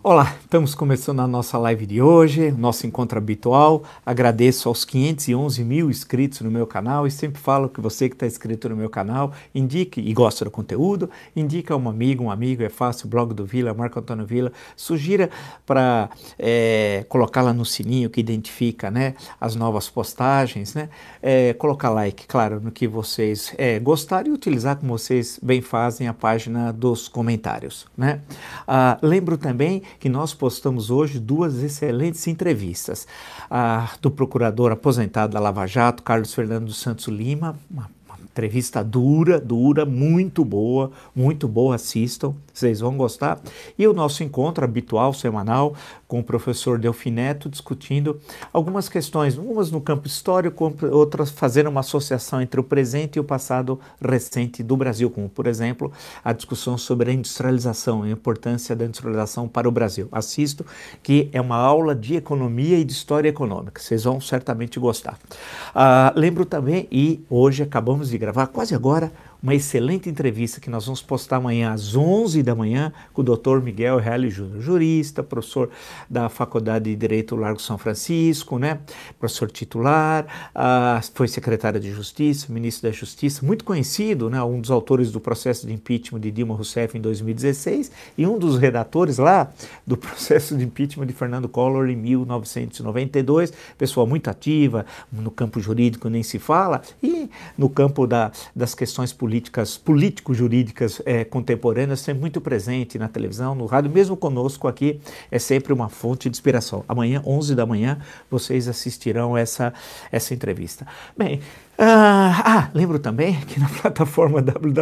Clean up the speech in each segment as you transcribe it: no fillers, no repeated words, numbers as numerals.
Olá, estamos começando a nossa live de hoje, nosso encontro habitual. Agradeço aos 511 mil inscritos no meu canal e sempre falo que você que está inscrito no meu canal, indique e gosta do conteúdo, indica um amigo, é fácil, blog do Vila, Marco Antônio Vila, sugira para colocar lá no sininho que identifica, né, as novas postagens, né, colocar like, claro, no que vocês gostarem e utilizar como vocês bem fazem a página dos comentários, né. Lembro também que nós postamos hoje duas excelentes entrevistas. Do procurador aposentado da Lava Jato, Carlos Fernando dos Santos Lima, uma entrevista dura, muito boa, assistam, vocês vão gostar. E o nosso encontro habitual, semanal, com o professor Delfim Neto, discutindo algumas questões, umas no campo histórico, outras fazendo uma associação entre o presente e o passado recente do Brasil, como, por exemplo, a discussão sobre a industrialização, a importância da industrialização para o Brasil. Assisto, que é uma aula de economia e de história econômica, vocês vão certamente gostar. Lembro também, e hoje acabamos de gravar, quase agora, uma excelente entrevista que nós vamos postar amanhã às 11 da manhã com o Dr. Miguel Reale Júnior, jurista, professor da Faculdade de Direito Largo São Francisco, né? Professor titular, foi secretário de Justiça, ministro da Justiça, muito conhecido, né? Um dos autores do processo de impeachment de Dilma Rousseff em 2016 e um dos redatores lá do processo de impeachment de Fernando Collor em 1992, pessoa muito ativa, no campo jurídico nem se fala, e no campo das questões político-jurídicas contemporâneas, sempre muito presente na televisão, no rádio, mesmo conosco aqui, é sempre uma fonte de inspiração. Amanhã, 11 da manhã, vocês assistirão essa entrevista. Bem, lembro também que na plataforma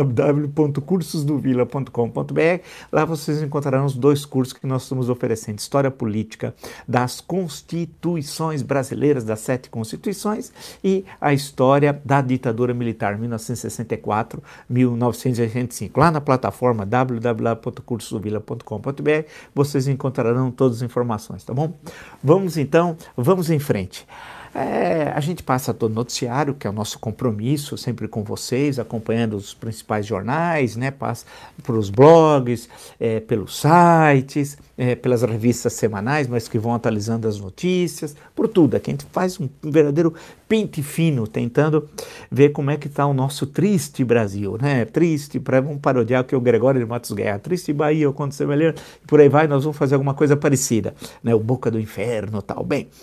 www.cursosdovila.com.br, lá vocês encontrarão os dois cursos que nós estamos oferecendo: História Política das Constituições Brasileiras, das 7 Constituições, e a História da Ditadura Militar, 1964-1985. Lá na plataforma www.cursosdovila.com.br vocês encontrarão todas as informações, tá bom? Vamos em frente. A gente passa todo o noticiário, que é o nosso compromisso, sempre com vocês, acompanhando os principais jornais, né? Passa por os blogs, pelos sites, pelas revistas semanais, mas que vão atualizando as notícias, por tudo. Aqui a gente faz um verdadeiro pente fino, tentando ver como é que está o nosso triste Brasil, né? Triste, vamos parodiar o que o Gregório de Matos Guerra, triste Bahia, quando você vai ler, por aí vai, nós vamos fazer alguma coisa parecida, né? O Boca do Inferno e tal. Bem,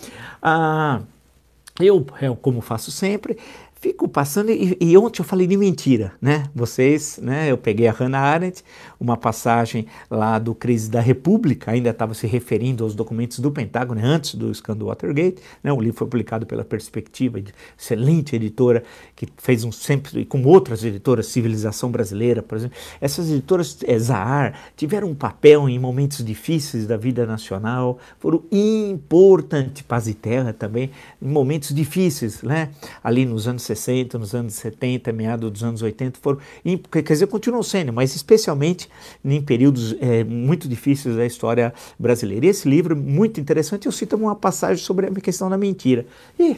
eu, como faço sempre, fico passando, e ontem eu falei de mentira, né? Vocês, né? Eu peguei a Hannah Arendt, uma passagem lá do Crise da República, ainda estava se referindo aos documentos do Pentágono, antes do escândalo Watergate, né? O livro foi publicado pela Perspectiva, excelente editora, que fez sempre, como outras editoras, Civilização Brasileira, por exemplo. Essas editoras, Zahar, tiveram um papel em momentos difíceis da vida nacional, foram importantes, Paz e Terra também, em momentos difíceis, né? Ali nos anos 60, nos anos 70, meados dos anos 80, quer dizer, continuam sendo, mas especialmente em períodos muito difíceis da história brasileira. E esse livro, muito interessante, eu cito uma passagem sobre a questão da mentira. E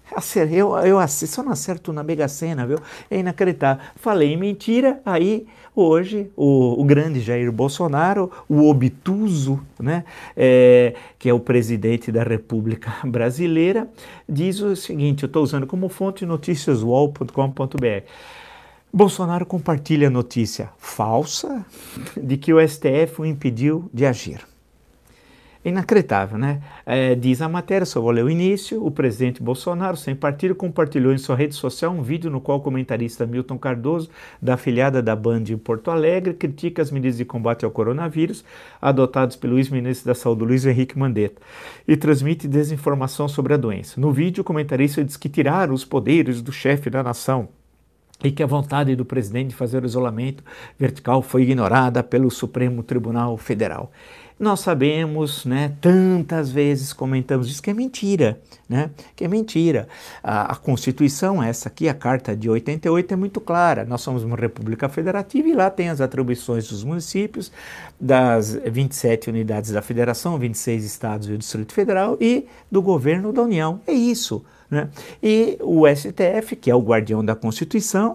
eu só não acerto na Mega Sena, viu? É inacreditável. Falei em mentira, aí hoje o grande Jair Bolsonaro, o obtuso, né, que é o presidente da República Brasileira, diz o seguinte, eu estou usando como fonte noticiaswall.com.br. Bolsonaro compartilha notícia falsa de que o STF o impediu de agir. Inacreditável, né? Diz a matéria, só vou ler o início: o presidente Bolsonaro, sem partido, compartilhou em sua rede social um vídeo no qual o comentarista Milton Cardoso, da afiliada da Band em Porto Alegre, critica as medidas de combate ao coronavírus adotadas pelo ex-ministro da Saúde, Luiz Henrique Mandetta, e transmite desinformação sobre a doença. No vídeo, o comentarista diz que tiraram os poderes do chefe da nação e que a vontade do presidente de fazer o isolamento vertical foi ignorada pelo Supremo Tribunal Federal. Nós sabemos, né, tantas vezes comentamos isso, que é mentira, né, que é mentira. A Constituição, essa aqui, a Carta de 88, é muito clara. Nós somos uma república federativa e lá tem as atribuições dos municípios, das 27 unidades da federação, 26 estados e o Distrito Federal, e do governo da União. É isso, né? E o STF, que é o guardião da Constituição,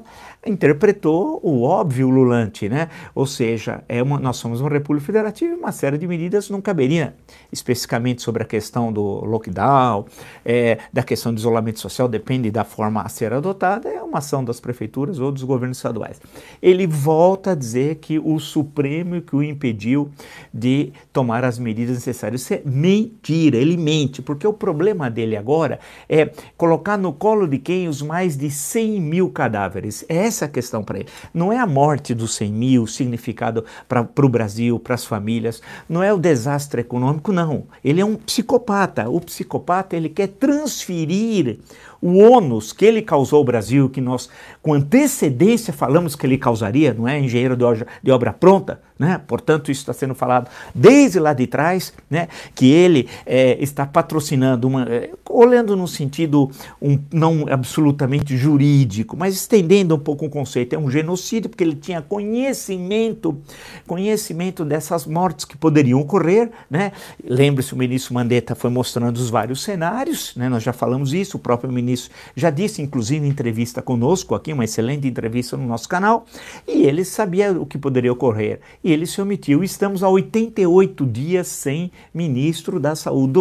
interpretou o óbvio ululante, né? Ou seja, nós somos uma república federativa e uma série de medidas não caberia, especificamente sobre a questão do lockdown, da questão do isolamento social, depende da forma a ser adotada, é uma ação das prefeituras ou dos governos estaduais. Ele volta a dizer que o Supremo que o impediu de tomar as medidas necessárias. Isso é mentira, ele mente, porque o problema dele agora é colocar no colo de quem os mais de 100 mil cadáveres. É essa a questão para ele. Não é a morte dos 100 mil, o significado para o Brasil, para as famílias, não é o desastre econômico, não. Ele é um psicopata. O psicopata, ele quer transferir o ônus que ele causou ao Brasil, que nós com antecedência falamos que ele causaria, não é? Engenheiro de obra pronta, né? Portanto, isso está sendo falado desde lá de trás, né? Que ele está patrocinando, olhando no sentido não absolutamente jurídico, mas estendendo um pouco o conceito, é um genocídio, porque ele tinha conhecimento dessas mortes que poderiam ocorrer, né? Lembre-se, o ministro Mandetta foi mostrando os vários cenários, né? Nós já falamos isso, o próprio ministro já disse, inclusive em entrevista conosco aqui, uma excelente entrevista no nosso canal, e ele sabia o que poderia ocorrer, e ele se omitiu. Estamos há 88 dias sem ministro da saúde,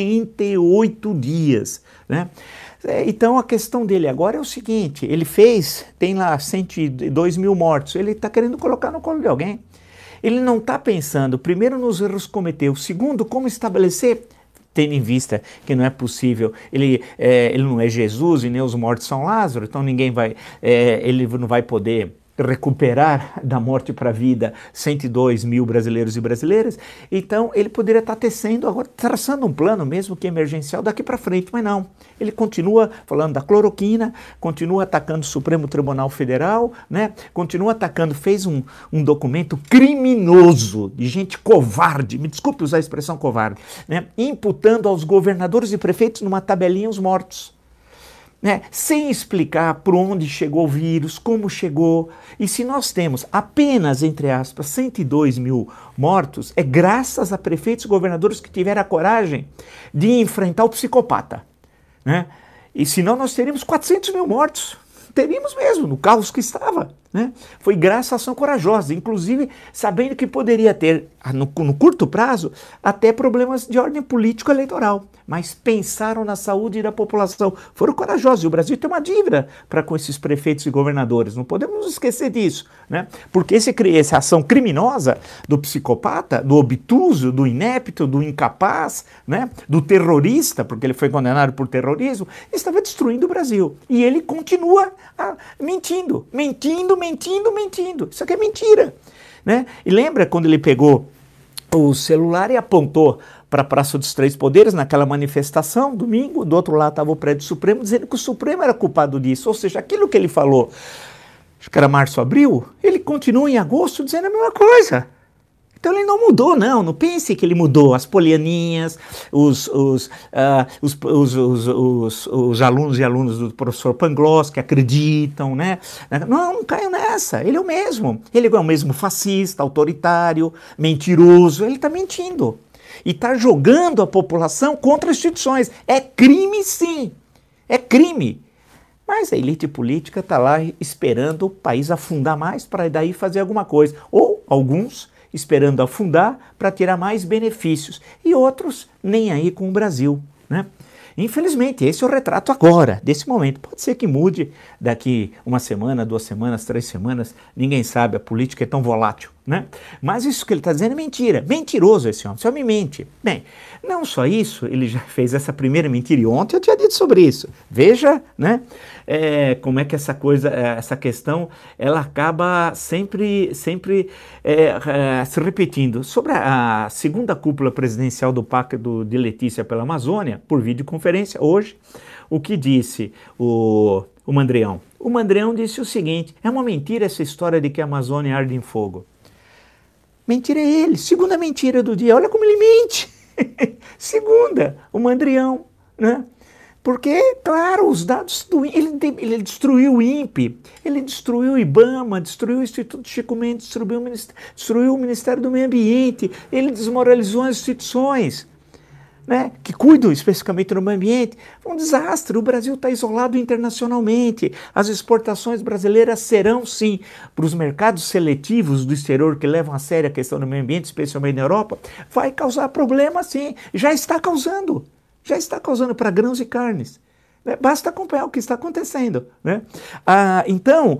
88 dias, né? Então a questão dele agora é o seguinte, tem lá 102 mil mortos, ele está querendo colocar no colo de alguém. Ele não está pensando, primeiro, nos erros que cometeu, segundo, como estabelecer, tendo em vista que não é possível, ele não é Jesus e nem os mortos são Lázaro, então ele não vai poder recuperar da morte para a vida 102 mil brasileiros e brasileiras, então ele poderia estar tecendo agora, traçando um plano mesmo que emergencial daqui para frente, mas não. Ele continua falando da cloroquina, continua atacando o Supremo Tribunal Federal, né? Continua atacando, fez um documento criminoso de gente covarde, me desculpe usar a expressão covarde, né? Imputando aos governadores e prefeitos numa tabelinha os mortos. Né, sem explicar por onde chegou o vírus, como chegou. E se nós temos apenas, entre aspas, 102 mil mortos, é graças a prefeitos e governadores que tiveram a coragem de enfrentar o psicopata. Né? E senão nós teríamos 400 mil mortos. Teríamos mesmo, no caos que estava. Né? Foi graças à ação corajosa, inclusive sabendo que poderia ter, no curto prazo, até problemas de ordem político-eleitoral. Mas pensaram na saúde da população, foram corajosos. E o Brasil tem uma dívida com esses prefeitos e governadores, não podemos nos esquecer disso. Né? Porque essa ação criminosa do psicopata, do obtuso, do inepto, do incapaz, né? Do terrorista, porque ele foi condenado por terrorismo, estava destruindo o Brasil. E ele continua mentindo. Isso aqui é mentira. Né? E lembra quando ele pegou o celular e apontou para a Praça dos Três Poderes, naquela manifestação, domingo, do outro lado estava o prédio Supremo, dizendo que o Supremo era culpado disso. Ou seja, aquilo que ele falou, acho que era março, abril, ele continua em agosto dizendo a mesma coisa. Então ele não mudou, não pense que ele mudou. As polianinhas, os alunos e alunas do professor Pangloss que acreditam, né? Não caiam nessa, ele é o mesmo. Ele é o mesmo fascista, autoritário, mentiroso, ele está mentindo. E está jogando a população contra as instituições. É crime, sim. É crime. Mas a elite política está lá esperando o país afundar mais para daí fazer alguma coisa. Ou alguns esperando afundar para tirar mais benefícios. E outros nem aí com o Brasil. Né? Infelizmente, esse é o retrato agora, desse momento. Pode ser que mude daqui uma semana, 2 semanas, 3 semanas, ninguém sabe, a política é tão volátil, né? Mas isso que ele está dizendo é mentira, mentiroso esse homem mente. Bem, não só isso, ele já fez essa primeira mentira e ontem eu tinha dito sobre isso. Veja, né, como é que essa questão, ela acaba sempre se repetindo. Sobre a segunda cúpula presidencial do Pacto de Letícia pela Amazônia, por videoconferência, hoje, o que disse o Mandrião? O Mandrião disse o seguinte: é uma mentira essa história de que a Amazônia arde em fogo. Mentira é ele, segunda mentira do dia, olha como ele mente. Segunda, o Mandrião, né? Porque, claro, os dados ele destruiu o INPE, ele destruiu o IBAMA, destruiu o Instituto Chico Mendes, destruiu o Ministério do Meio Ambiente, ele desmoralizou as instituições. né, que cuidam especificamente do meio ambiente. Um desastre, o Brasil está isolado internacionalmente. As exportações brasileiras serão, sim, para os mercados seletivos do exterior que levam a sério a questão do meio ambiente, especialmente na Europa, vai causar problema, sim. Já está causando para grãos e carnes. Basta acompanhar o que está acontecendo, né? Então,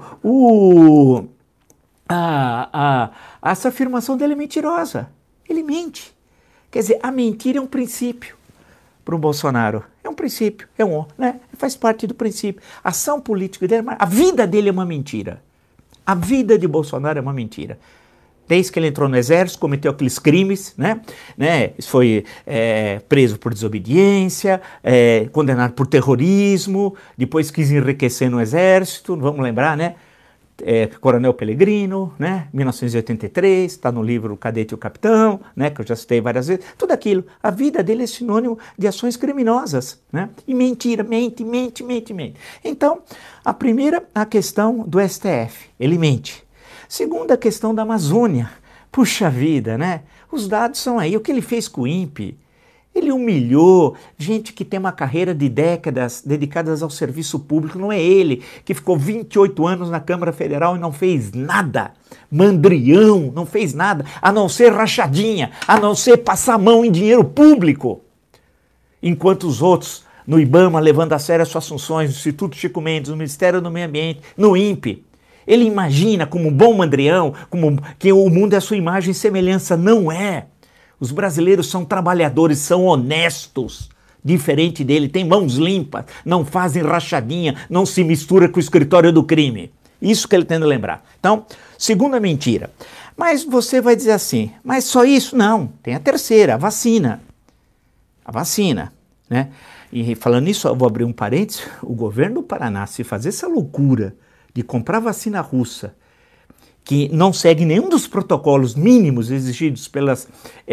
essa afirmação dele é mentirosa. Ele mente. Quer dizer, a mentira é um princípio para o Bolsonaro. É um princípio, né? Faz parte do princípio. A ação política dele, a vida dele é uma mentira. A vida de Bolsonaro é uma mentira. Desde que ele entrou no exército, cometeu aqueles crimes, né? Foi preso por desobediência, condenado por terrorismo, depois quis enriquecer no exército, vamos lembrar, né? Coronel Pellegrino, né? 1983, está no livro O Cadete e o Capitão, né? Que eu já citei várias vezes. Tudo aquilo. A vida dele é sinônimo de ações criminosas, né? E mentira, mente. Então, a primeira, a questão do STF. Ele mente. Segunda, a questão da Amazônia. Puxa vida, né? Os dados são aí. O que ele fez com o INPE? Ele humilhou gente que tem uma carreira de décadas dedicadas ao serviço público. Não é ele que ficou 28 anos na Câmara Federal e não fez nada. Mandrião, não fez nada, a não ser rachadinha, a não ser passar a mão em dinheiro público. Enquanto os outros, no IBAMA, levando a sério as suas funções, no Instituto Chico Mendes, no Ministério do Meio Ambiente, no INPE. Ele imagina como um bom mandrião, que o mundo é a sua imagem e semelhança. Não é. Os brasileiros são trabalhadores, são honestos, diferente dele, tem mãos limpas, não fazem rachadinha, não se mistura com o escritório do crime. Isso que ele tem que lembrar. Então, segunda mentira. Mas você vai dizer assim, mas só isso? Não, tem a terceira, a vacina. A vacina, né? E falando nisso, eu vou abrir um parênteses, o governo do Paraná, se fazer essa loucura de comprar vacina russa, que não segue nenhum dos protocolos mínimos exigidos pelas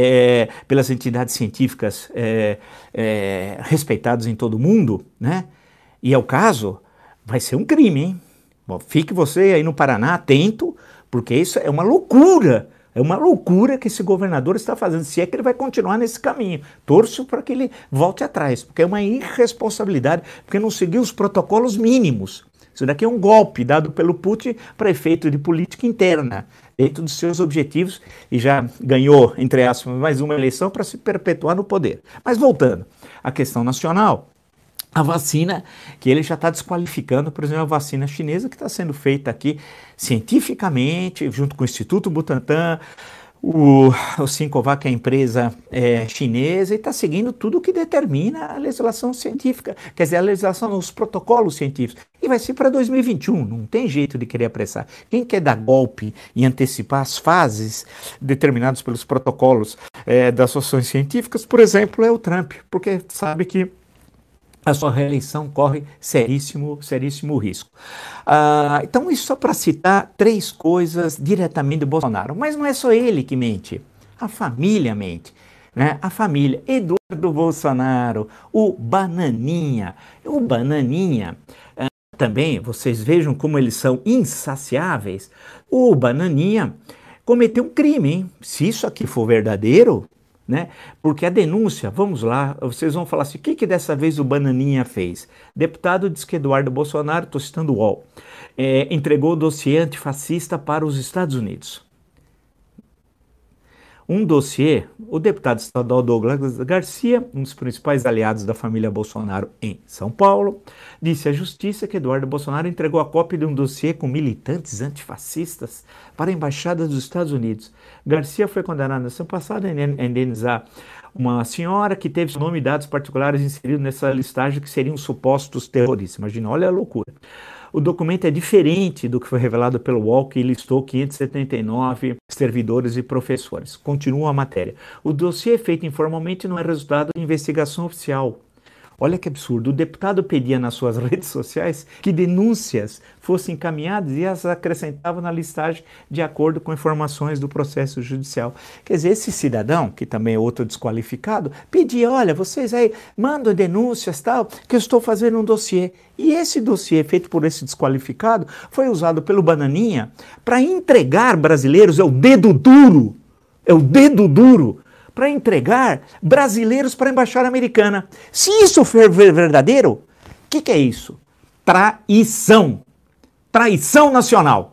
entidades científicas respeitadas em todo o mundo, né? E é o caso, vai ser um crime, hein? Bom, fique você aí no Paraná atento, porque isso é uma loucura. É uma loucura que esse governador está fazendo, se é que ele vai continuar nesse caminho. Torço para que ele volte atrás, porque é uma irresponsabilidade, porque não seguiu os protocolos mínimos. Isso daqui é um golpe dado pelo Putin para efeito de política interna, dentro dos seus objetivos, e já ganhou, entre aspas, mais uma eleição para se perpetuar no poder. Mas voltando à questão nacional, a vacina que ele já está desqualificando, por exemplo, a vacina chinesa que está sendo feita aqui cientificamente, junto com o Instituto Butantan, o Sinovac, que é a empresa chinesa, e está seguindo tudo o que determina a legislação científica, quer dizer, a legislação, os protocolos científicos. E vai ser para 2021, não tem jeito de querer apressar. Quem quer dar golpe e antecipar as fases determinadas pelos protocolos das ações científicas, por exemplo, é o Trump, porque sabe que a sua reeleição corre seríssimo risco. Então, isso só para citar três coisas diretamente do Bolsonaro. Mas não é só ele que mente, a família mente. Né? A família, Eduardo Bolsonaro, o Bananinha. O Bananinha, também, vocês vejam como eles são insaciáveis. O Bananinha cometeu um crime, hein? Se isso aqui for verdadeiro, né? Porque a denúncia, vamos lá, vocês vão falar assim, o que dessa vez o Bananinha fez? Deputado diz que Eduardo Bolsonaro, estou citando o UOL, entregou o dossiê antifascista para os Estados Unidos. Um dossiê, o deputado estadual Douglas Garcia, um dos principais aliados da família Bolsonaro em São Paulo, disse à justiça que Eduardo Bolsonaro entregou a cópia de um dossiê com militantes antifascistas para a Embaixada dos Estados Unidos. Garcia foi condenado na semana passada a indenizar uma senhora que teve seu nome e dados particulares inseridos nessa listagem que seriam supostos terroristas. Imagina, olha a loucura. O documento é diferente do que foi revelado pelo UOL, que listou 579 servidores e professores. Continua a matéria. O dossiê feito informalmente não é resultado de investigação oficial. Olha que absurdo. O deputado pedia nas suas redes sociais que denúncias fossem encaminhadas e as acrescentava na listagem de acordo com informações do processo judicial. Quer dizer, esse cidadão, que também é outro desqualificado, pedia, olha, vocês aí mandam denúncias, tal, que eu estou fazendo um dossiê. E esse dossiê feito por esse desqualificado foi usado pelo Bananinha para entregar brasileiros, é o dedo duro, para entregar brasileiros para a embaixada americana. Se isso for verdadeiro, o que é isso? Traição. Traição nacional.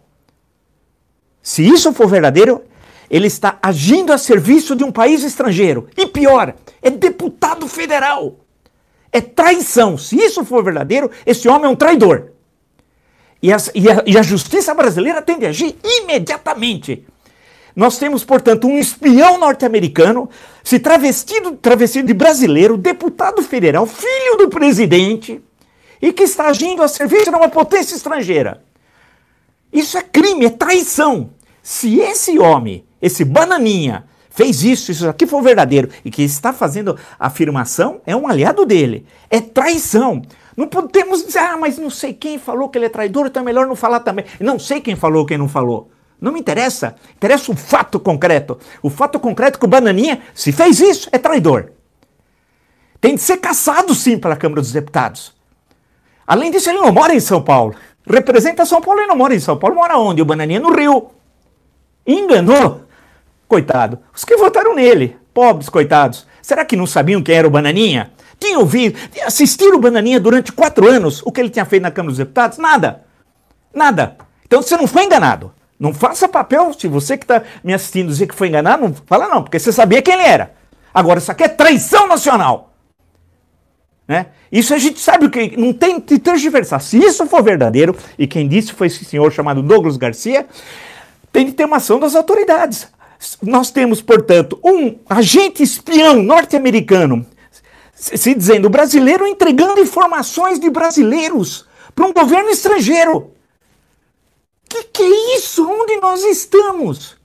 Se isso for verdadeiro, ele está agindo a serviço de um país estrangeiro. E pior, é deputado federal. É traição. Se isso for verdadeiro, esse homem é um traidor. E a justiça brasileira tem de agir imediatamente. Nós temos, portanto, um espião norte-americano se travestido de brasileiro, deputado federal, filho do presidente, e que está agindo a serviço de uma potência estrangeira. Isso é crime, é traição. Se esse homem, esse bananinha, fez isso aqui for verdadeiro, e que está fazendo a afirmação, é um aliado dele. É traição. Não podemos dizer, mas não sei quem falou que ele é traidor, então é melhor não falar também. Não sei quem falou, quem não falou. Não me interessa. Interessa o fato concreto. O fato concreto que o bananinha, se fez isso, é traidor. Tem de ser caçado, sim, pela Câmara dos Deputados. Além disso, ele não mora em São Paulo. Representa São Paulo e não mora em São Paulo. Mora onde? O bananinha no Rio. Enganou. Coitado. Os que votaram nele. Pobres, coitados. Será que não sabiam quem era o bananinha? Tinham ouvido, assistiram o bananinha durante 4 anos. O que ele tinha feito na Câmara dos Deputados? Nada. Nada. Então você não foi enganado. Não faça papel, se você que está me assistindo dizer que foi enganado, não fala não, porque você sabia quem ele era. Agora, isso aqui é traição nacional. Né? Isso a gente sabe o que, não tem de tergiversar. Se isso for verdadeiro, e quem disse foi esse senhor chamado Douglas Garcia, tem de ter uma ação das autoridades. Nós temos, portanto, um agente espião norte-americano se dizendo brasileiro entregando informações de brasileiros para um governo estrangeiro. Que é isso? Onde nós estamos?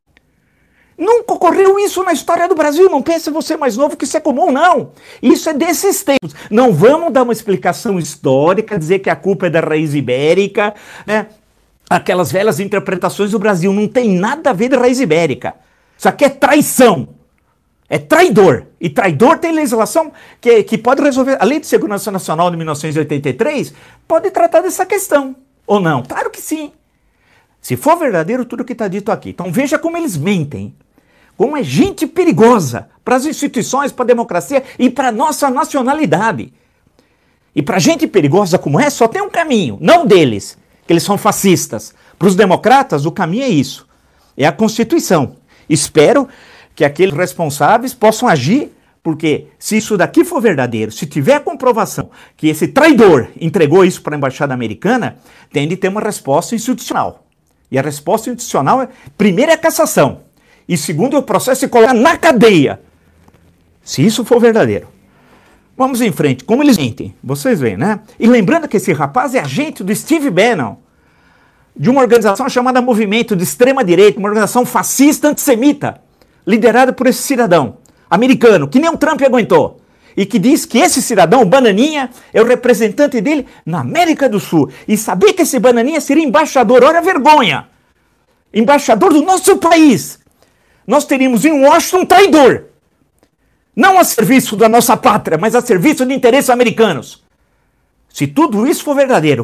Nunca ocorreu isso na história do Brasil. Não pense você mais novo que isso é comum, não. Isso é desses tempos. Não vamos dar uma explicação histórica, dizer que a culpa é da raiz ibérica, né? Aquelas velhas interpretações do Brasil. Não tem nada a ver de raiz ibérica. Isso aqui é traição. É traidor. E traidor tem legislação que pode resolver. A Lei de Segurança Nacional de 1983 pode tratar dessa questão. Ou não? Claro que sim. Se for verdadeiro tudo que está dito aqui. Então veja como eles mentem. Como é gente perigosa para as instituições, para a democracia e para a nossa nacionalidade. E para gente perigosa como é, só tem um caminho. Não deles, que eles são fascistas. Para os democratas, o caminho é isso. É a Constituição. Espero que aqueles responsáveis possam agir, porque se isso daqui for verdadeiro, se tiver comprovação que esse traidor entregou isso para a Embaixada Americana, tem de ter uma resposta institucional. E a resposta institucional é, primeiro, é a cassação. E segundo, é o processo de colocar na cadeia. Se isso for verdadeiro. Vamos em frente. Como eles mentem? Vocês veem, né? E lembrando que esse rapaz é agente do Steve Bannon, de uma organização chamada Movimento de Extrema-Direita, uma organização fascista antissemita, liderada por esse cidadão americano, que nem o Trump aguentou. E que diz que esse cidadão, o Bananinha, é o representante dele na América do Sul. E saber que esse Bananinha seria embaixador, olha a vergonha! Embaixador do nosso país. Nós teríamos em Washington um traidor. Não a serviço da nossa pátria, mas a serviço de interesses americanos. Se tudo isso for verdadeiro,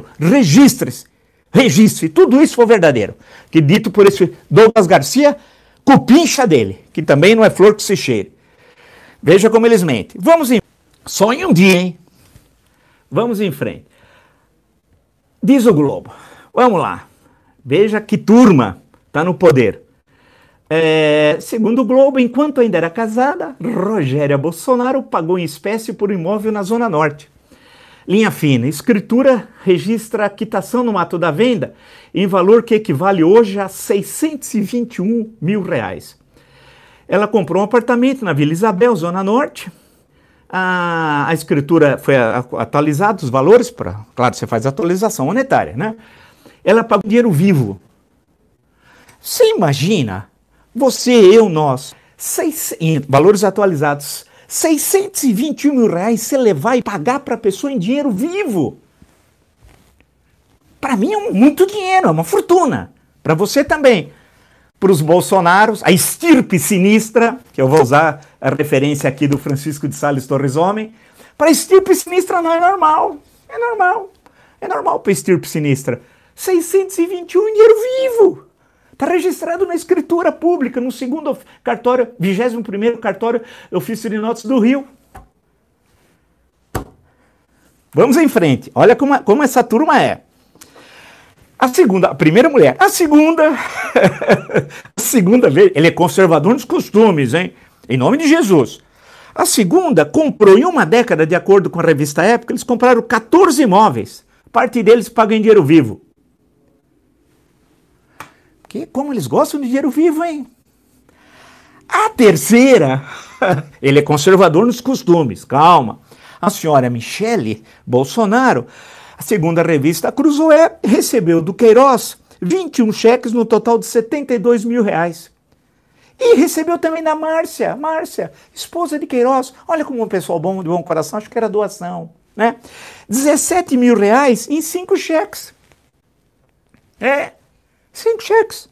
registre, tudo isso for verdadeiro. Que dito por esse Douglas Garcia, cupincha dele, que também não é flor que se cheire. Veja como eles mentem. Vamos em... Só em um dia, hein? Vamos em frente. Diz o Globo. Vamos lá. Veja que turma está no poder. Segundo o Globo, enquanto ainda era casada, Rogéria Bolsonaro pagou em espécie por um imóvel na Zona Norte. Linha fina. Escritura registra a quitação no ato da venda em valor que equivale hoje a R$621 mil. Ela comprou um apartamento na Vila Isabel, Zona Norte. A escritura foi atualizada, os valores, claro, você faz atualização monetária, né? Ela pagou dinheiro vivo. Você imagina, você, eu, nós, valores atualizados, R$621 mil você levar e pagar para a pessoa em dinheiro vivo. Para mim é muito dinheiro, é uma fortuna. Para você também. Para os Bolsonaros, a estirpe sinistra, que eu vou usar a referência aqui do Francisco de Sales Torres Homem, para a estirpe sinistra não é normal. É normal. É normal para a estirpe sinistra. 621 em dinheiro vivo. Está registrado na escritura pública, no segundo cartório, 21º cartório ofício de notas do Rio. Vamos em frente. Olha como essa turma é. A primeira mulher. A segunda vez, ele é conservador nos costumes, hein? Em nome de Jesus. A segunda comprou em uma década, de acordo com a revista Época, eles compraram 14 imóveis. Parte deles pagam em dinheiro vivo. Porque como eles gostam de dinheiro vivo, hein? A terceira, ele é conservador nos costumes, calma. A senhora Michele Bolsonaro, a segunda revista Cruzoé, recebeu do Queiroz 21 cheques no total de 72 mil reais. E recebeu também da Márcia, esposa de Queiroz. Olha como um pessoal bom, de bom coração, acho que era doação, né? 17 mil reais em 5 cheques. 5 cheques.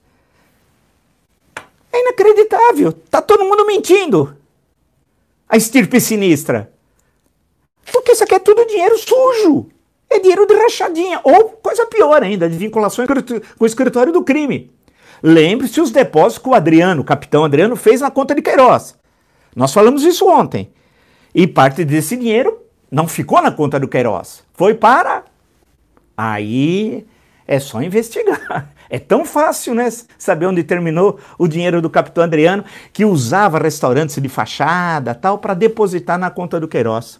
É inacreditável. Tá todo mundo mentindo. A estirpe sinistra. Porque isso aqui é tudo dinheiro sujo. É dinheiro de rachadinha. Ou, coisa pior ainda, de vinculação com o escritório do crime. Lembre-se os depósitos que o capitão Adriano, fez na conta de Queiroz. Nós falamos isso ontem. E parte desse dinheiro não ficou na conta do Queiroz. Foi para... Aí é só investigar. É tão fácil, né, saber onde terminou o dinheiro do capitão Adriano, que usava restaurantes de fachada tal para depositar na conta do Queiroz.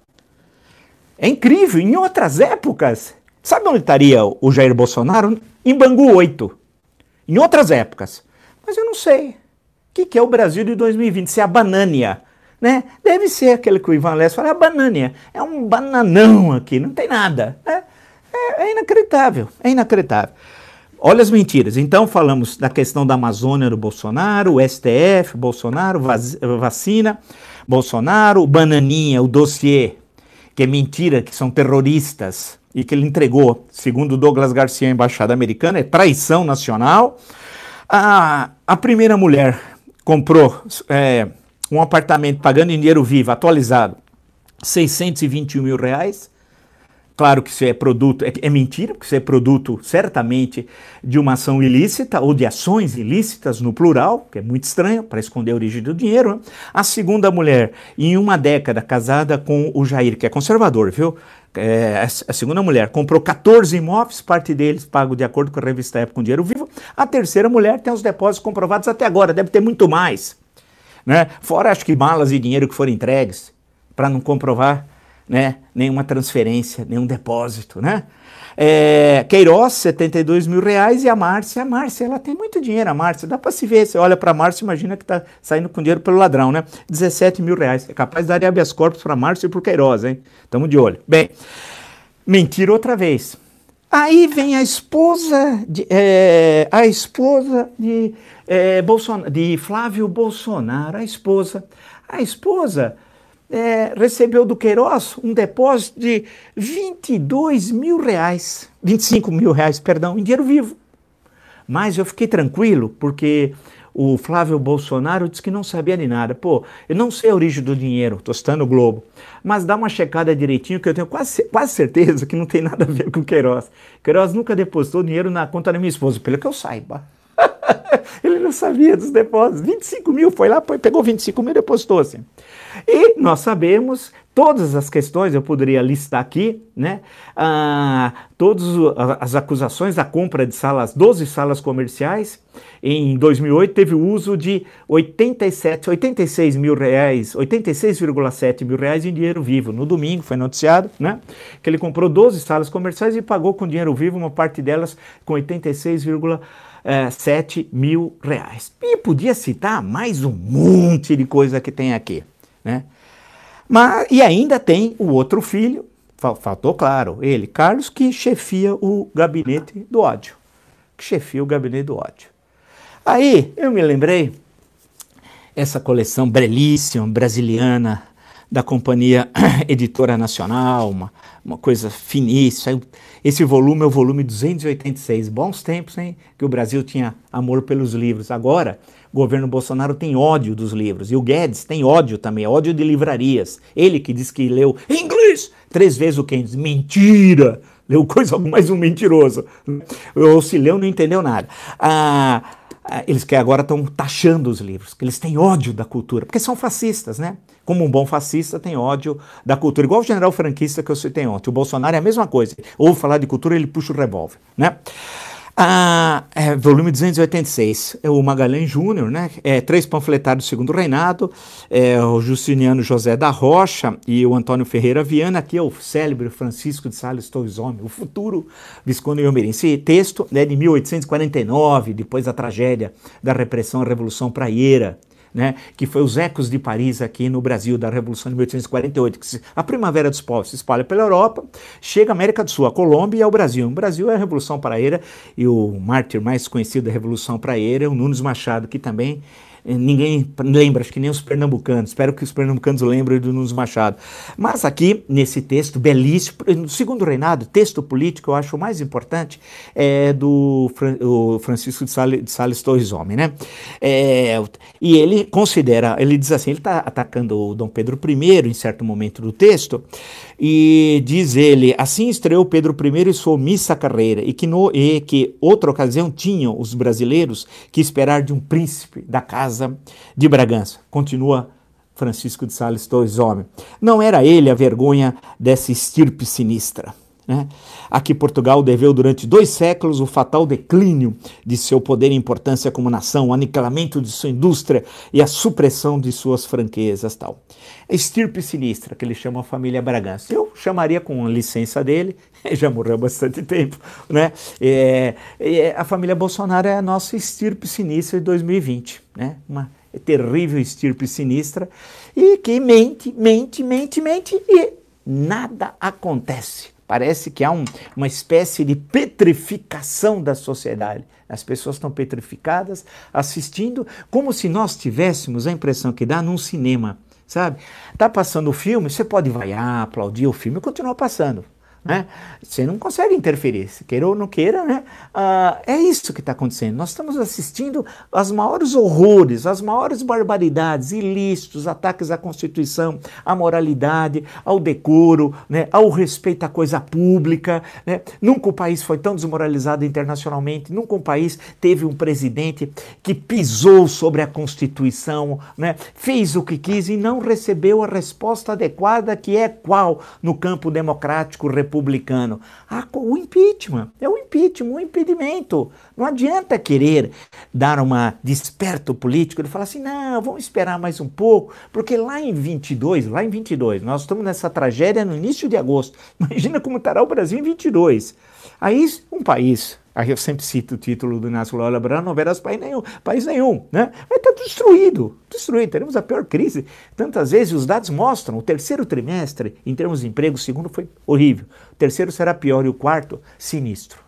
É incrível, em outras épocas, sabe onde estaria o Jair Bolsonaro? Em Bangu 8. Em outras épocas. Mas eu não sei. O que é o Brasil de 2020? Se é a banânia, né? Deve ser aquele que o Ivan Lessa fala, a banânia. É um bananão aqui, não tem nada. Né? É inacreditável, é inacreditável. Olha as mentiras. Então falamos da questão da Amazônia do Bolsonaro, o STF, Bolsonaro, vacina, Bolsonaro, o Bananinha, o dossiê, que é mentira, que são terroristas, e que ele entregou, segundo Douglas Garcia, a embaixada americana, é traição nacional. A primeira mulher comprou um apartamento pagando em dinheiro vivo, atualizado, 621 mil reais. Claro que isso é produto, é mentira, porque isso é produto, certamente, de uma ação ilícita ou de ações ilícitas no plural, que é muito estranho, para esconder a origem do dinheiro. Né? A segunda mulher, em uma década, casada com o Jair, que é conservador, viu? A segunda mulher comprou 14 imóveis, parte deles pago de acordo com a revista Época com dinheiro vivo. A terceira mulher tem os depósitos comprovados até agora, deve ter muito mais. Né? Fora, acho que malas e dinheiro que foram entregues, para não comprovar, né, nenhuma transferência, nenhum depósito, né? Queiroz, 72 mil reais, e a Márcia, ela tem muito dinheiro, a Márcia, dá para se ver, você olha para a Márcia, imagina que tá saindo com dinheiro pelo ladrão, né? 17 mil reais, é capaz de dar habeas corpus para a Márcia e para o Queiroz, hein? Tamo de olho. Bem, mentira outra vez. Aí vem a esposa de Flávio Bolsonaro, a esposa recebeu do Queiroz um depósito de 22 mil reais, 25 mil reais, perdão, em dinheiro vivo. Mas eu fiquei tranquilo, porque o Flávio Bolsonaro disse que não sabia de nada. Pô, eu não sei a origem do dinheiro, tô citando o Globo, mas dá uma checada direitinho, que eu tenho quase certeza que não tem nada a ver com o Queiroz. Queiroz nunca depositou dinheiro na conta da minha esposa, pelo que eu saiba. Ele não sabia dos depósitos. 25 mil, foi lá, pegou 25 mil e depositou assim. E nós sabemos, todas as questões, eu poderia listar aqui, né? Todas as acusações da compra de 12 salas comerciais. Em 2008 teve o uso de 86 mil reais, 86,7 mil reais em dinheiro vivo. No domingo foi noticiado, né? Que ele comprou 12 salas comerciais e pagou com dinheiro vivo uma parte delas com 86,7 mil reais. E podia citar mais um monte de coisa que tem aqui, né? E ainda tem o outro filho, faltou claro, ele, Carlos, que chefia o gabinete do ódio. Aí eu me lembrei, essa coleção belíssima, brasiliana, da Companhia Editora Nacional, uma coisa finíssima. Esse volume é o volume 286. Bons tempos, hein? Que o Brasil tinha amor pelos livros. Agora, o governo Bolsonaro tem ódio dos livros. E o Guedes tem ódio também, ódio de livrarias. Ele que diz que leu em inglês 3 vezes o Keynes. Mentira! leu coisa mais um mentiroso. Ou se leu, não entendeu nada. Eles que agora estão taxando os livros, que eles têm ódio da cultura, porque são fascistas, né? Como um bom fascista tem ódio da cultura, igual o general franquista que eu citei ontem. O Bolsonaro é a mesma coisa. Ouve falar de cultura, ele puxa o revólver, né? Volume 286, é o Magalhães Júnior, né? 3 panfletários do Segundo Reinado, o Justiniano José da Rocha e o Antônio Ferreira Viana, aqui é o célebre Francisco de Sales Torres Homem, o futuro Visconde Elmirim. Esse texto é de 1849, depois da tragédia da repressão à Revolução Praieira, né, que foi os ecos de Paris aqui no Brasil, da Revolução de 1848, que a Primavera dos Povos se espalha pela Europa, chega à América do Sul, a Colômbia e ao Brasil. O Brasil é a Revolução Praieira, e o mártir mais conhecido da Revolução Praieira é o Nunes Machado, que também ninguém lembra, acho que nem os pernambucanos, espero que os pernambucanos lembrem do Nunes Machado. Mas aqui, nesse texto belíssimo, no Segundo Reinado, texto político, eu acho o mais importante, é do Francisco de Sales Torres Homem, né? E ele considera, ele diz assim, ele está atacando o Dom Pedro I em certo momento do texto, e diz ele, assim estreou Pedro I e sua omissa carreira, e que outra ocasião tinham os brasileiros que esperar de um príncipe da casa de Bragança. Continua Francisco de Sales Torres Homem. Não era ele a vergonha dessa estirpe sinistra, né? A que Portugal deveu durante 2 séculos o fatal declínio de seu poder e importância como nação, o aniquilamento de sua indústria e a supressão de suas franquezas, tal. A estirpe sinistra, que ele chama a família Bragança. Eu chamaria, com licença dele, já morreu há bastante tempo, né? A família Bolsonaro é a nossa estirpe sinistra de 2020, né? Uma terrível estirpe sinistra e que mente e nada acontece. Parece que há uma espécie de petrificação da sociedade. As pessoas estão petrificadas, assistindo, como se nós tivéssemos a impressão que dá num cinema, sabe? Tá passando o filme, você pode vaiar, aplaudir o filme, continua passando, né? Você não consegue interferir, se queira ou não queira, né? É isso que está acontecendo. Nós estamos assistindo aos maiores horrores, às maiores barbaridades, ilícitos, ataques à Constituição, à moralidade, ao decoro, né? Ao respeito à coisa pública, né? Nunca o país foi tão desmoralizado internacionalmente, nunca um país teve um presidente que pisou sobre a Constituição, né? Fez o que quis e não recebeu a resposta adequada, que é qual no campo democrático republicano? O impeachment, o impedimento. Não adianta querer dar uma desperto político e falar assim, não, vamos esperar mais um pouco, porque lá em 22, nós estamos nessa tragédia no início de agosto. Imagina como estará o Brasil em 22. Aí um país, aí eu sempre cito o título do Inácio Lula Brandão, não verás país nenhum, né? Vai estar destruído, teremos a pior crise. Tantas vezes os dados mostram, o terceiro trimestre, em termos de emprego, o segundo foi horrível, o terceiro será pior e o quarto, sinistro.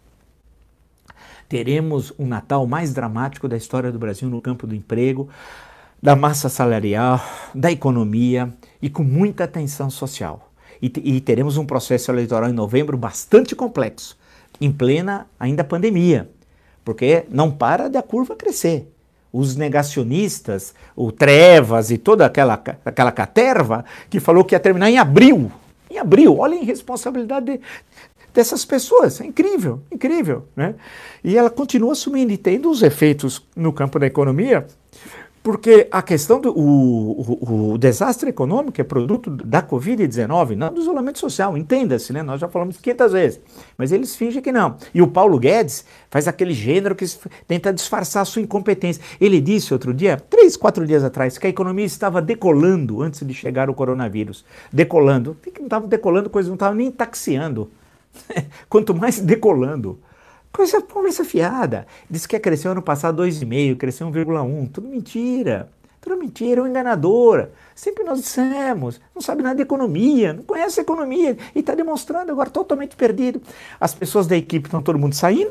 Teremos um Natal mais dramático da história do Brasil no campo do emprego, da massa salarial, da economia e com muita tensão social. E teremos um processo eleitoral em novembro bastante complexo, em plena ainda pandemia, porque não para da curva crescer. Os negacionistas, o Trevas e toda aquela caterva que falou que ia terminar em abril, olha a irresponsabilidade dessas pessoas, é incrível, né? E ela continua assumindo e tendo os efeitos no campo da economia, porque a questão do desastre econômico é produto da Covid-19, não do isolamento social, entenda-se, né? Nós já falamos 500 vezes, mas eles fingem que não. E o Paulo Guedes faz aquele gênero que tenta disfarçar a sua incompetência. Ele disse outro dia, 3, 4 dias atrás, que a economia estava decolando antes de chegar o coronavírus. Decolando. Não estava decolando, coisa não estava nem taxiando. Quanto mais decolando. Conversa fiada. Disse que ia crescer ano passado 2,5, cresceu 1,1. Tudo mentira, uma enganadora. Sempre nós dissemos, não sabe nada de economia, não conhece a economia e está demonstrando agora totalmente perdido. As pessoas da equipe estão todo mundo saindo,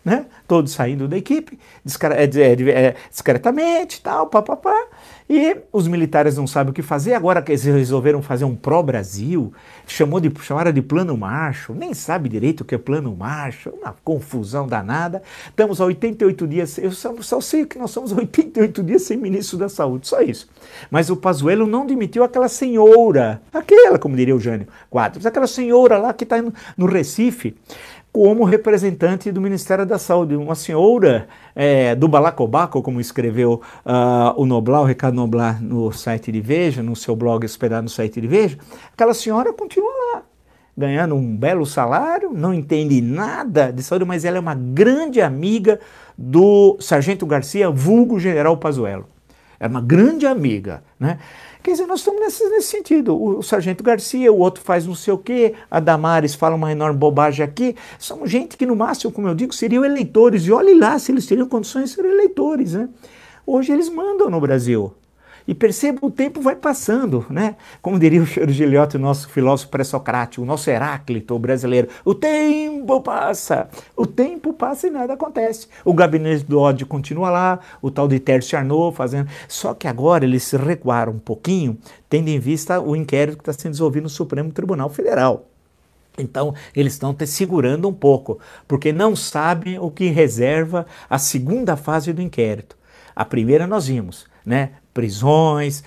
né? Todos saindo da equipe, discretamente, tal, papapá. E os militares não sabem o que fazer, agora que eles resolveram fazer um pró-Brasil, chamaram de Plano Marshall, nem sabe direito o que é Plano Marshall, uma confusão danada. Estamos há 88 dias, eu só sei que nós somos 88 dias sem ministro da Saúde, só isso. Mas o Pazuello não demitiu aquela senhora, como diria o Jânio Quadros, aquela senhora lá que está no Recife, como representante do Ministério da Saúde, uma senhora do balacobaco, como escreveu o Ricardo Noblar no site de Veja, no seu blog hospedado no site de Veja. Aquela senhora continua lá, ganhando um belo salário, não entende nada de saúde, mas ela é uma grande amiga do Sargento Garcia, vulgo General Pazuello. É uma grande amiga, né? Quer dizer, nós estamos nesse sentido. O Sargento Garcia, o outro faz não sei o quê, a Damares fala uma enorme bobagem aqui. Somos gente que, no máximo, como eu digo, seriam eleitores. E olhe lá se eles teriam condições de ser eleitores, né? Hoje eles mandam no Brasil. E perceba, o tempo vai passando, né? Como diria o Cheiro Giliotti, o nosso filósofo pré-socrático, o nosso Heráclito brasileiro. O tempo passa e nada acontece. O gabinete do ódio continua lá, o tal de Tércio Arnaud fazendo... Só que agora eles se recuaram um pouquinho, tendo em vista o inquérito que está sendo desenvolvido no Supremo Tribunal Federal. Então, eles estão segurando um pouco, porque não sabem o que reserva a segunda fase do inquérito. A primeira nós vimos, né? Prisões,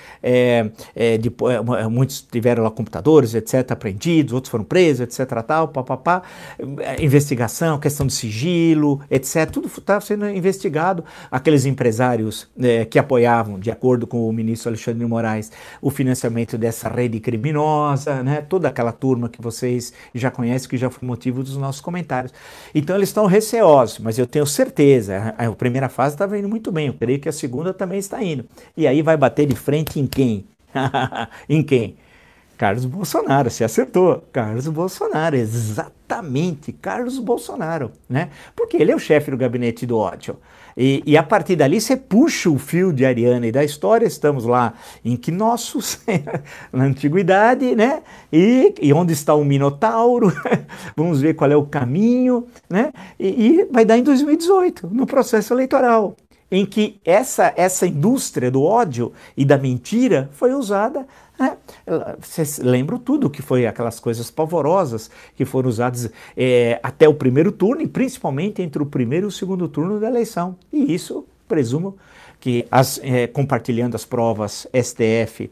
muitos tiveram lá computadores, etc., apreendidos, outros foram presos, etc., tal, papapá, investigação, questão de sigilo, etc., tudo está sendo investigado. Aqueles empresários que apoiavam, de acordo com o ministro Alexandre de Moraes, o financiamento dessa rede criminosa, né? Toda aquela turma que vocês já conhecem, que já foi motivo dos nossos comentários. Então eles estão receosos, mas eu tenho certeza, a primeira fase estava indo muito bem, eu creio que a segunda também está indo. E aí vai bater de frente em quem? Em quem? Carlos Bolsonaro, você acertou. Carlos Bolsonaro, exatamente, Carlos Bolsonaro, né? Porque ele é o chefe do gabinete do ódio. E a partir dali você puxa o fio de Ariane da história, estamos lá em Knossos, na antiguidade, né? E onde está o Minotauro, vamos ver qual é o caminho, né? E vai dar em 2018, no processo eleitoral, em que essa indústria do ódio e da mentira foi usada, né? Vocês lembram tudo que foi aquelas coisas pavorosas que foram usadas até o primeiro turno e principalmente entre o primeiro e o segundo turno da eleição. E isso, presumo que, compartilhando as provas STF,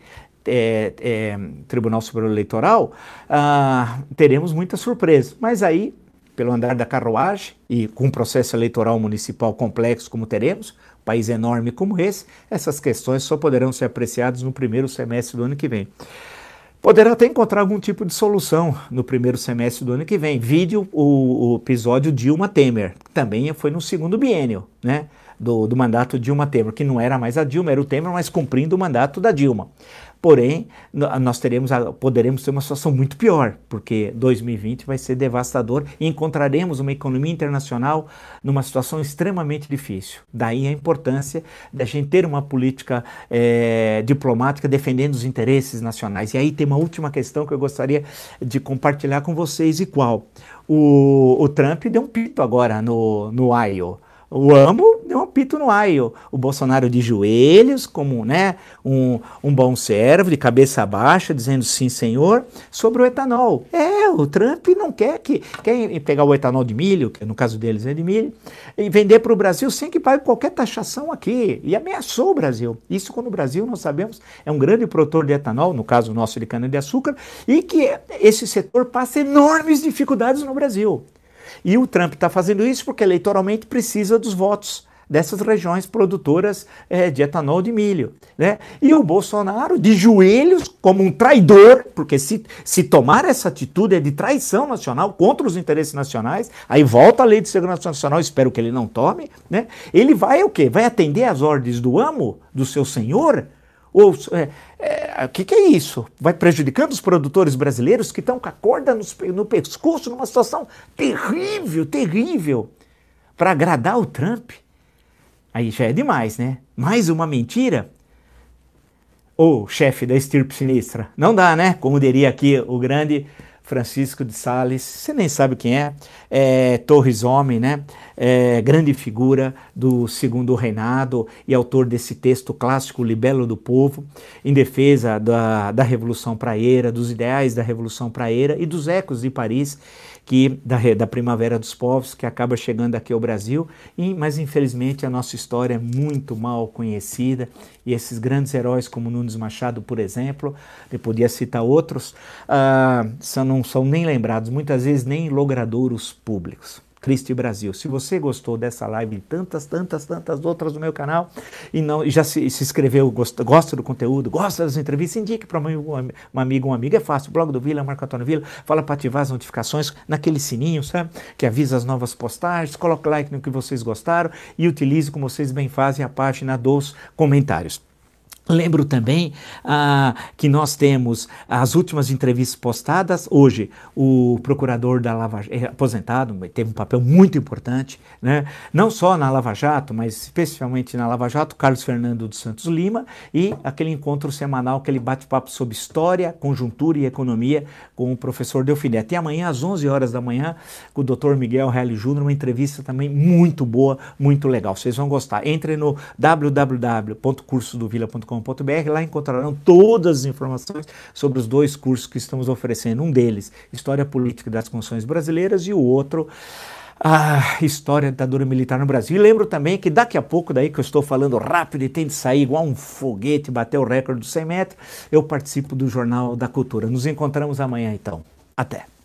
Tribunal Superior Eleitoral, teremos muitas surpresas. Mas aí, pelo andar da carruagem e com um processo eleitoral municipal complexo como teremos, país enorme como esse, essas questões só poderão ser apreciadas no primeiro semestre do ano que vem. Poderá até encontrar algum tipo de solução no primeiro semestre do ano que vem. Vide o episódio Dilma-Temer, que também foi no segundo biênio, né, do mandato Dilma-Temer, que não era mais a Dilma, era o Temer, mas cumprindo o mandato da Dilma. Porém, nós poderemos ter uma situação muito pior, porque 2020 vai ser devastador e encontraremos uma economia internacional numa situação extremamente difícil. Daí a importância da gente ter uma política diplomática defendendo os interesses nacionais. E aí tem uma última questão que eu gostaria de compartilhar com vocês, e qual? O Trump deu um pito agora no Iowa. O AMO deu um apito no aio. O Bolsonaro de joelhos, como, né, um bom servo, de cabeça baixa, dizendo sim, senhor, sobre o etanol. O Trump não quer pegar o etanol de milho, que no caso deles é de milho, e vender para o Brasil sem que pague qualquer taxação aqui. E ameaçou o Brasil. Isso quando o Brasil, nós sabemos, é um grande produtor de etanol, no caso nosso de cana-de-açúcar, e que esse setor passa enormes dificuldades no Brasil. E o Trump está fazendo isso porque eleitoralmente precisa dos votos dessas regiões produtoras de etanol de milho, né? E o Bolsonaro de joelhos como um traidor, porque se tomar essa atitude é de traição nacional contra os interesses nacionais, aí volta a Lei de Segurança Nacional, espero que ele não tome, né? Ele vai o quê? Vai atender às ordens do amo, do seu senhor? O que é isso? Vai prejudicando os produtores brasileiros que estão com a corda no pescoço numa situação terrível, terrível, para agradar o Trump. Aí já é demais, né? Mais uma mentira? Ô, chefe da estirpe sinistra, não dá, né? Como diria aqui o grande Francisco de Sales, você nem sabe quem Torres Homem, né? Grande figura do Segundo Reinado e autor desse texto clássico, Libelo do Povo, em defesa da Revolução Praieira, dos ideais da Revolução Praieira e dos ecos de Paris, da Primavera dos Povos, que acaba chegando aqui ao Brasil, mas infelizmente a nossa história é muito mal conhecida, e esses grandes heróis como Nunes Machado, por exemplo, eu podia citar outros, não são nem lembrados, muitas vezes nem em logradouros públicos. Cristo e Brasil. Se você gostou dessa live e tantas outras do meu canal e já se inscreveu, gosta do conteúdo, gosta das entrevistas, indique para um amigo, uma amiga. É fácil, blog do Vila, Marco Antônio Vila, fala para ativar as notificações naquele sininho, sabe? Que avisa as novas postagens, coloque like no que vocês gostaram e utilize, como vocês bem fazem, a página dos comentários. Lembro também que nós temos as últimas entrevistas postadas. Hoje, o procurador da Lava Jato, aposentado, teve um papel muito importante, né? Não só na Lava Jato, mas especialmente na Lava Jato, Carlos Fernando dos Santos Lima, e aquele encontro semanal, aquele bate-papo sobre história, conjuntura e economia com o professor Delfim Neto. E amanhã, às 11 horas da manhã, com o Dr. Miguel Reale Júnior, uma entrevista também muito boa, muito legal. Vocês vão gostar. Entre no www.cursodovila.com.br, lá encontrarão todas as informações sobre os dois cursos que estamos oferecendo. Um deles, História Política das Constituições Brasileiras, e o outro, História da Ditadura Militar no Brasil. E lembro também que daqui a pouco, daí que eu estou falando rápido e tem de sair igual um foguete, bater o recorde dos 100 metros, eu participo do Jornal da Cultura. Nos encontramos amanhã, então. Até!